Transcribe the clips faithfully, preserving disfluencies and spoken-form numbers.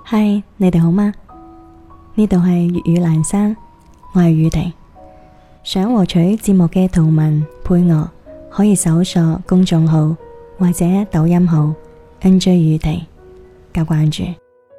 嗨，你哋好嗎？呢度係粵語闌珊，我係宇婷。想獲取節目嘅圖文配樂，可以搜索公眾號或者抖音號 N J 宇婷加關注。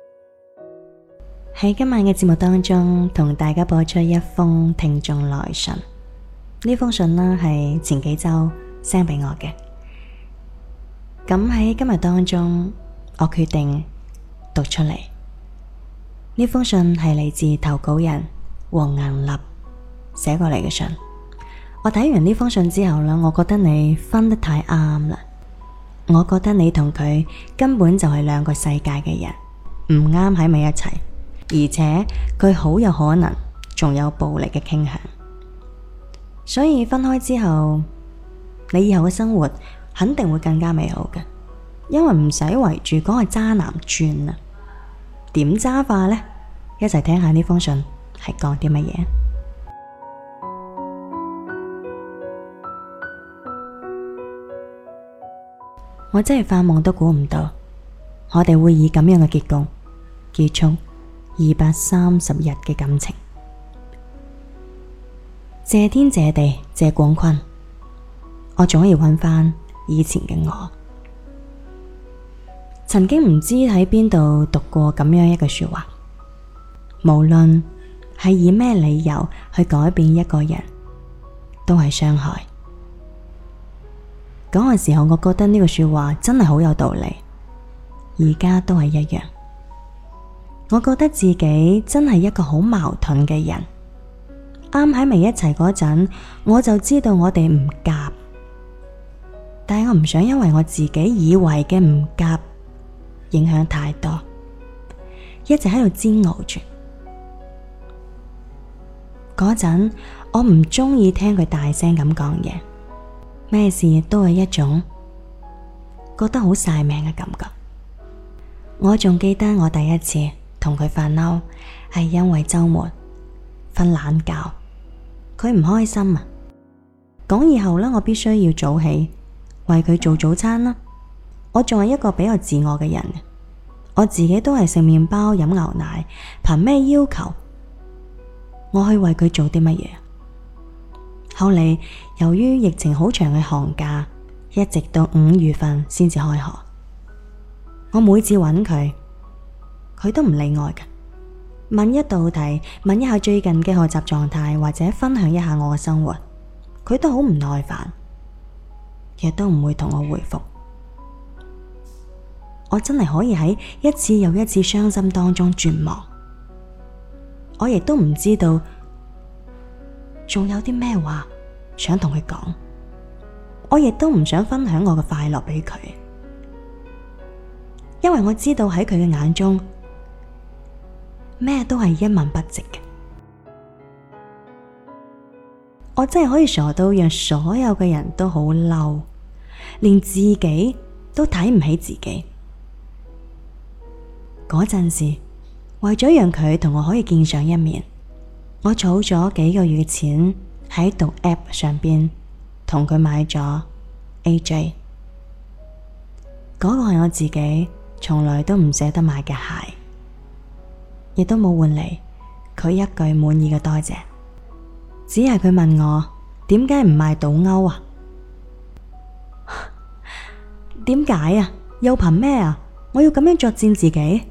喺今晚嘅節目當中，同大家播出一封聽眾來信。呢封信呢係前幾周 send 俾我嘅。咁喺今日當中，我決定讀出嚟。呢封信係嚟自投稿人黃銀立寫過嚟嘅信。我睇完呢封信之後呢，我覺得你分得太啱啦。我覺得你同佢根本就係兩個世界嘅人，唔啱喺埋一齊，而且佢好有可能仲有暴力嘅傾向。所以分開之後，你以後嘅生活肯定會更加美好嘅，因為唔使圍住嗰個渣男轉啦。點渣法呢？一齊聽下呢封信係講啲乜嘢。我真係發夢都估唔到，我哋會以咁樣嘅結局結束二百三十日嘅感情。謝天謝地謝廣坤，我總要揾翻以前嘅我。曾經唔知喺邊度讀過咁樣一句說話，無論係以咩理由去改變一個人，都係傷害。嗰個時候我覺得呢句說話真係好有道理，而家都係一樣。我覺得自己真係一個好矛盾嘅人，啱喺埋一齊嗰陣，我就知道我哋唔夾，但係我唔想因為我自己以為嘅唔夾影響太多，一直喺度煎熬住。嗰陣我唔中意聽佢大聲咁講嘢，咩事都係一種覺得好晒命嘅感覺。我仲記得我第一次同佢發嬲係因為周末瞓懶覺，佢唔開心啊，講以後呢，我必須要早起為佢做早餐啦。我仲係一個比較自我嘅人，我自己都係食麵包飲牛奶，憑咩要求我去為佢做啲乜嘢？後嚟由於疫情好長嘅寒假，一直到五月份先至開學，我每次揾佢，佢都唔理我嘅。問一道題，問一下最近嘅學習狀態，或者分享一下我嘅生活，佢都好唔耐煩，亦都唔會同我回覆。我真係可以喺一次又一次傷心當中絕望，我亦都唔知道仲有啲咩話想同佢講，我亦都唔想分享我嘅快樂俾佢，因為我知道喺佢嘅眼中咩都係一文不值嘅。我真係可以傻到讓所有嘅人都好嬲，連自己都睇唔起自己。嗰陣時，為咗讓佢同我可以見上一面，我儲咗幾個月嘅錢喺讀 app 上邊同佢買咗 A J。嗰個係我自己從來都唔捨得買嘅鞋，亦都冇換嚟佢一句滿意嘅多謝，只係佢問我點解唔買賭歐啊？點解啊？又憑咩啊？我要咁樣作踐自己？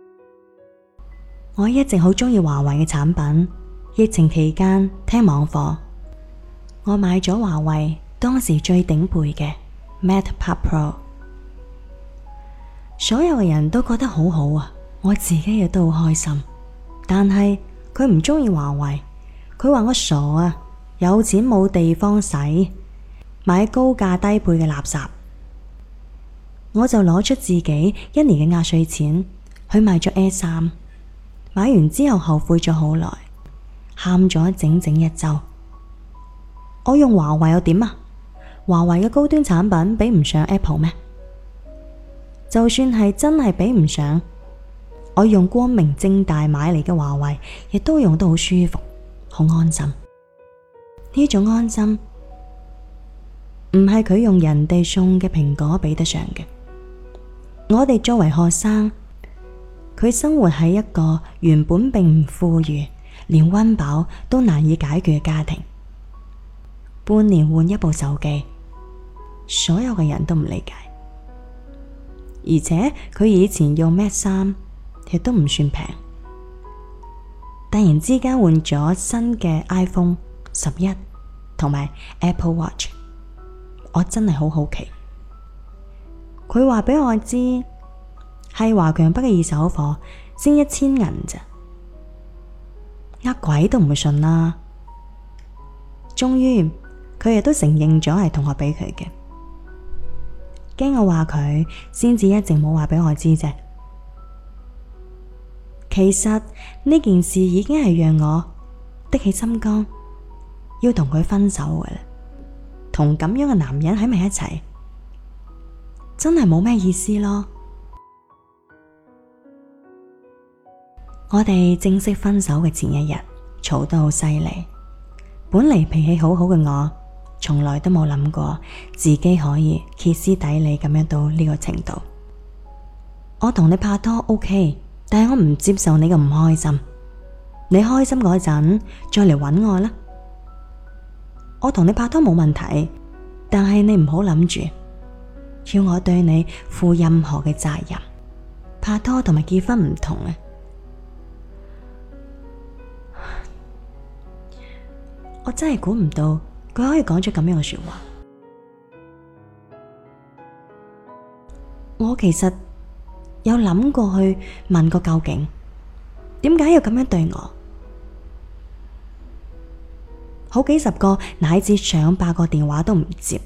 我一直好鍾意華為嘅產品，疫情期間聽網課，我買咗華為當時最頂配嘅 MatePad Pro， 所有嘅人都覺得好好啊，我自己亦都好開心。但係佢唔鍾意華為，佢話我傻啊，有錢冇地方使，買高價低配嘅垃圾。我就攞出自己一年嘅壓歲錢去買咗 A 三，買完之後後悔咗好耐，喊咗整整一周。我用華為又點啊？華為嘅高端產品比唔上 Apple 咩？就算係真係比唔上，我用光明正大買嚟嘅華為，亦都用得好舒服，好安心。呢種安心唔係佢用人哋送嘅蘋果比得上嘅。我哋作為學生， 佢生活喺一個原本並唔富裕，連溫飽都難以解決嘅家庭。半年換一部手機，所有嘅人都唔理解。而且佢以前用咩衫亦都唔算平，突然之間換咗新嘅 iPhone 十一同埋 Apple Watch， 我真係好好奇。佢話俾我知係華強北嘅二手貨，先一千銀咋，呃鬼都唔會信啦。終於佢亦都承認咗係同學俾佢嘅，驚我話佢，先至一直冇話俾我知啫。其實呢件事已經係讓我的起心肝，要同佢分手嘅啦。同咁樣嘅男人喺埋一齊，真係冇咩意思咯。我哋正式分手嘅前一日，嘈得好犀利。本嚟脾氣好好嘅我，從來都冇諗過自己可以歇斯底里咁樣到呢個程度。我同你拍拖 OK， 但係我唔接受你嘅唔開心。你開心嗰陣再嚟搵我啦。我同你拍拖冇問題，但係你唔好諗住要我對你負任何嘅責任。拍拖同埋結婚唔同啊！我真係估唔到佢可以講出咁樣嘅說話。我其實有諗過去問個究竟，點解要咁樣對我？好幾十個乃至上百個電話都唔接。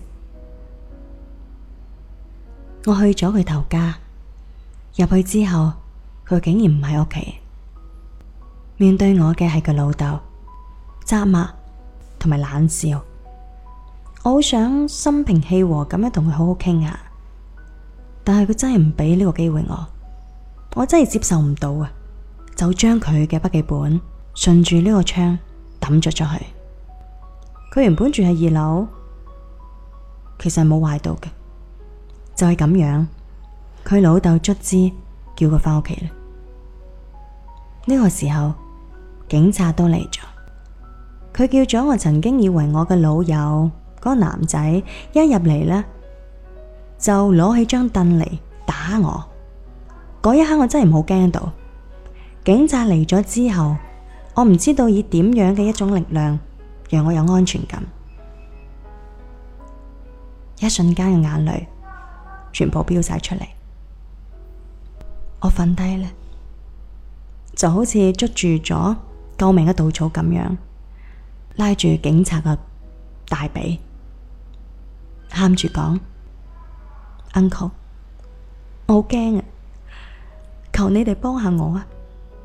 我去咗佢頭家，入去之後，佢竟然唔喺屋企。面對我嘅係佢老豆，責罵同埋冷笑。我好想心平氣和咁樣同佢好好傾下，但係佢真係唔俾呢個機會我，我真係接受唔到啊！就將佢嘅筆記本順住呢個窗抌咗出去。佢原本住喺二樓，其實冇壞到嘅，就係咁樣。佢老豆卒之叫佢返屋企啦。呢個時候，警察都嚟咗。佢叫咗我曾經以為我嘅老友嗰個男仔，一入嚟呢，就攞起張凳嚟打我。嗰一刻我真係冇驚到。警察嚟咗之後，我唔知道以點樣嘅一種力量讓我有安全感。一瞬間嘅眼淚全部飆晒出嚟。我瞓低咧，就好似捉住咗救命嘅稻草咁樣，拉住警察嘅大髀，喊住講：Uncle，我好驚啊！求你哋幫下我啊！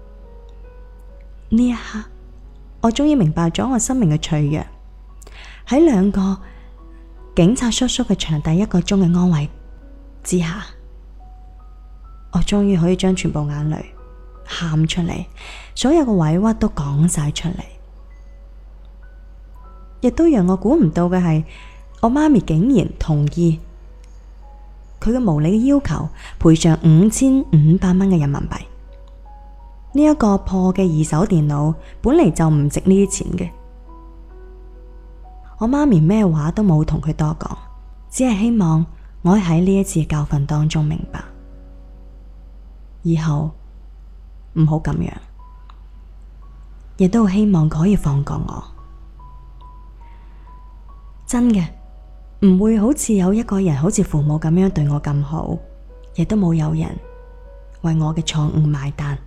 呢一刻，我終於明白咗我生命嘅脆弱。喺兩個警察叔叔嘅長達一個鐘嘅安慰之下，我終於可以將全部眼淚喊出嚟，所有嘅委屈都講晒出嚟。亦都讓我估唔到嘅係，我媽咪竟然同意佢嘅無理嘅要求，賠償五千五百蚊嘅人民幣。呢一個破嘅二手電腦本嚟就唔值呢啲錢嘅。我媽咪咩話都冇同佢多講，只係希望我喺呢一次教訓當中明白，以後唔好咁樣，亦都希望佢可以放過我。真嘅，唔會好似有一個人好似父母咁樣對我咁好，亦都冇有人為我嘅錯誤買單。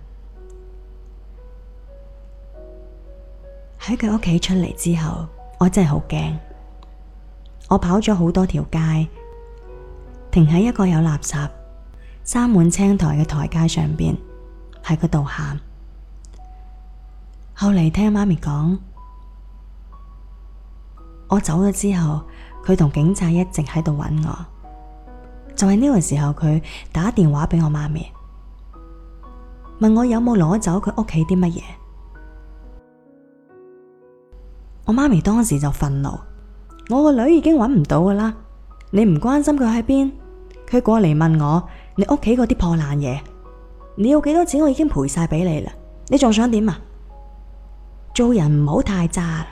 喺佢屋企出嚟之後，我真係好驚。我跑咗好多條街，停喺一個有垃圾、生滿青苔嘅台階上邊，喺嗰度喊。後嚟聽媽咪講，我走咗之後，佢同警察一直喺度揾我。就係呢個時候，佢打電話俾我媽咪，問我有冇攞走佢屋企啲乜嘢。我媽咪當時就憤怒，我個女已經揾唔到噶啦，你唔關心佢喺邊，佢過嚟問我你屋企嗰啲破爛嘢。 你要幾多錢我已經賠晒俾你啦，你仲想點啊？做人唔好太渣啦。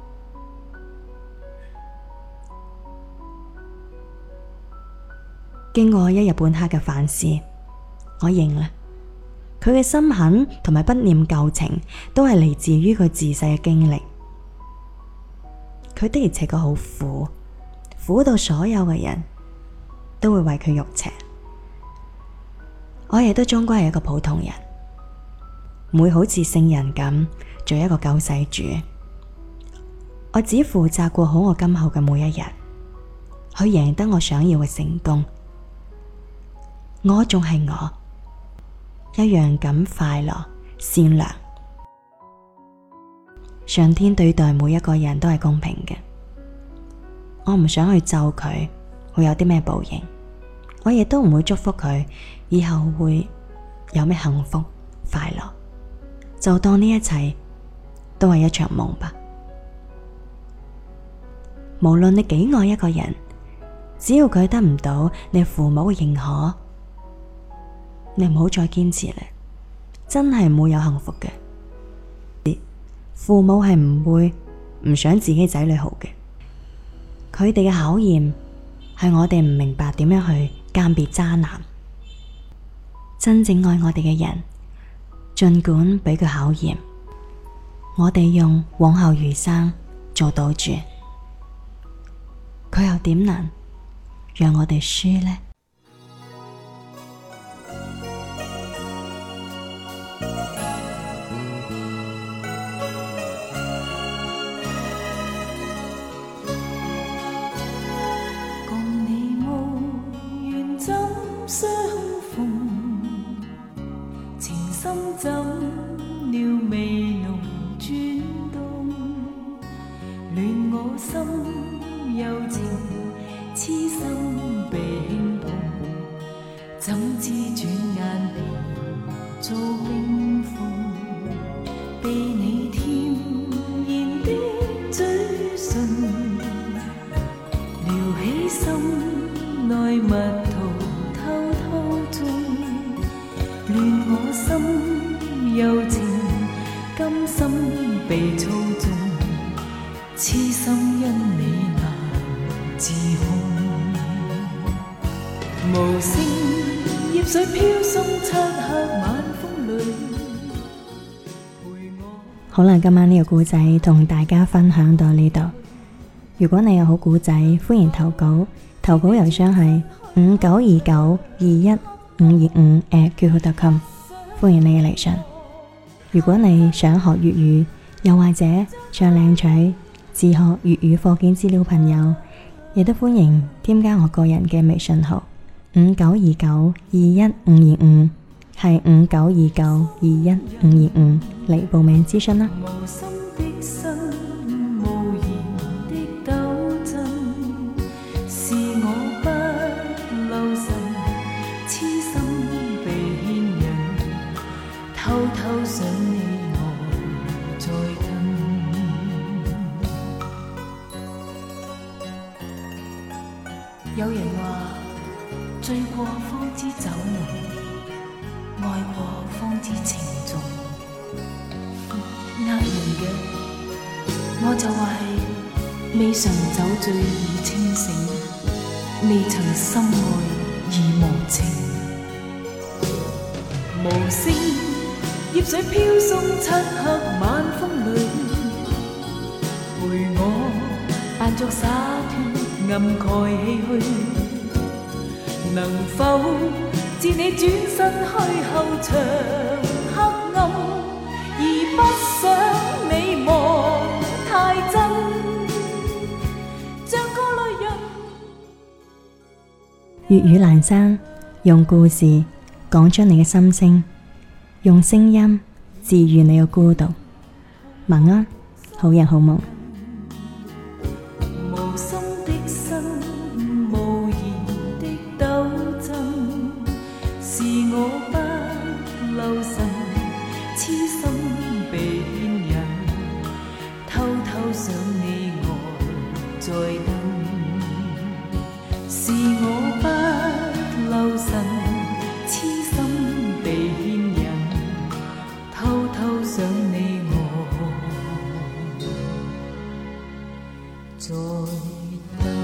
經過一日半黑嘅反思，我認啦，佢嘅心狠同埋不念舊情都係嚟自於佢自細嘅經歷。佢的而且確好苦，苦到所有嘅人都會為佢肉赤。我亦都終歸係一個普通人，唔會好似聖人咁做一個救世主。我只負責過好我今後嘅每一日，去贏得我想要嘅成功。我仲係我，一樣咁快樂善良。上天對待每一個人都係公平嘅，我唔想去咒佢會有啲咩報應，我亦都唔會祝福佢以後會有咩幸福快樂，就當呢一切都係一場夢吧。無論你幾愛一個人，只要佢得唔到你父母嘅認可，你唔好再堅持啦，真係唔會有幸福嘅。父母係唔會唔想自己仔女好嘅，佢哋嘅考驗係我哋唔明白點樣去鑑別渣男。真正愛我哋嘅人，盡管俾佢考驗，我哋用往後餘生做賭注，佢又點能讓我哋輸呢？ 相逢，情深怎料味濃轉動，戀我心有情，痴心被輕碰，怎知轉眼變做冰封，被你甜言的嘴唇撩起心內蜜桃，戀我心有情，甘心被操縱，痴心因你難自控。無聲葉水飄送，漆黑晚風裏陪我。 好啦，今晚呢個故仔同大家分享到呢度。如果你有好故仔，歡迎投稿，投稿郵箱係五九二九二一五二五 at Q Q 點 com， 歡迎你嘅嚟信。如果你想學粵語，又或者想領取自學粵語課件資料，朋友亦都歡迎添加我個人嘅微信號五九二九二一五二五，係五九二九二一五二五嚟報名諮詢啦。 無心的心，無言的鬥爭，是我不留神，痴心被牽引，偷偷想你我再近。有人話醉過方知酒濃，愛過方知情重。呃人嘅，我就話係未嘗酒醉已清醒，未曾深愛已無情。無聲葉水飄送，漆黑晚風裏陪我扮作灑脫，暗蓋唏噓。能否自你轉身去後長黑暗，而不想你望太真，像個淚人。 粵語闌珊，用故事講出你嘅心聲，用聲音治愈你嘅孤獨。晚安，好人好夢。 無心的心，無言的鬥爭，是我不留神，痴心被牽引，偷偷想你我在等，是我不留神，痴心被牽引。 在等。